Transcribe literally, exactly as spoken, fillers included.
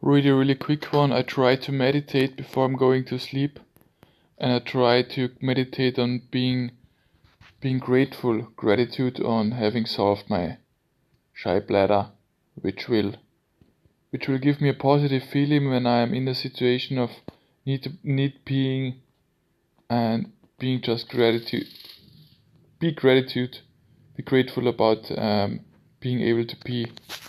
really really quick one. I try to meditate before I'm going to sleep, and I try to meditate on being being grateful, gratitude on having solved my shy bladder, which will which will give me a positive feeling when I am in a situation of need to, need peeing, and being just gratitude. Be gratitude. Be grateful about um, being able to pee.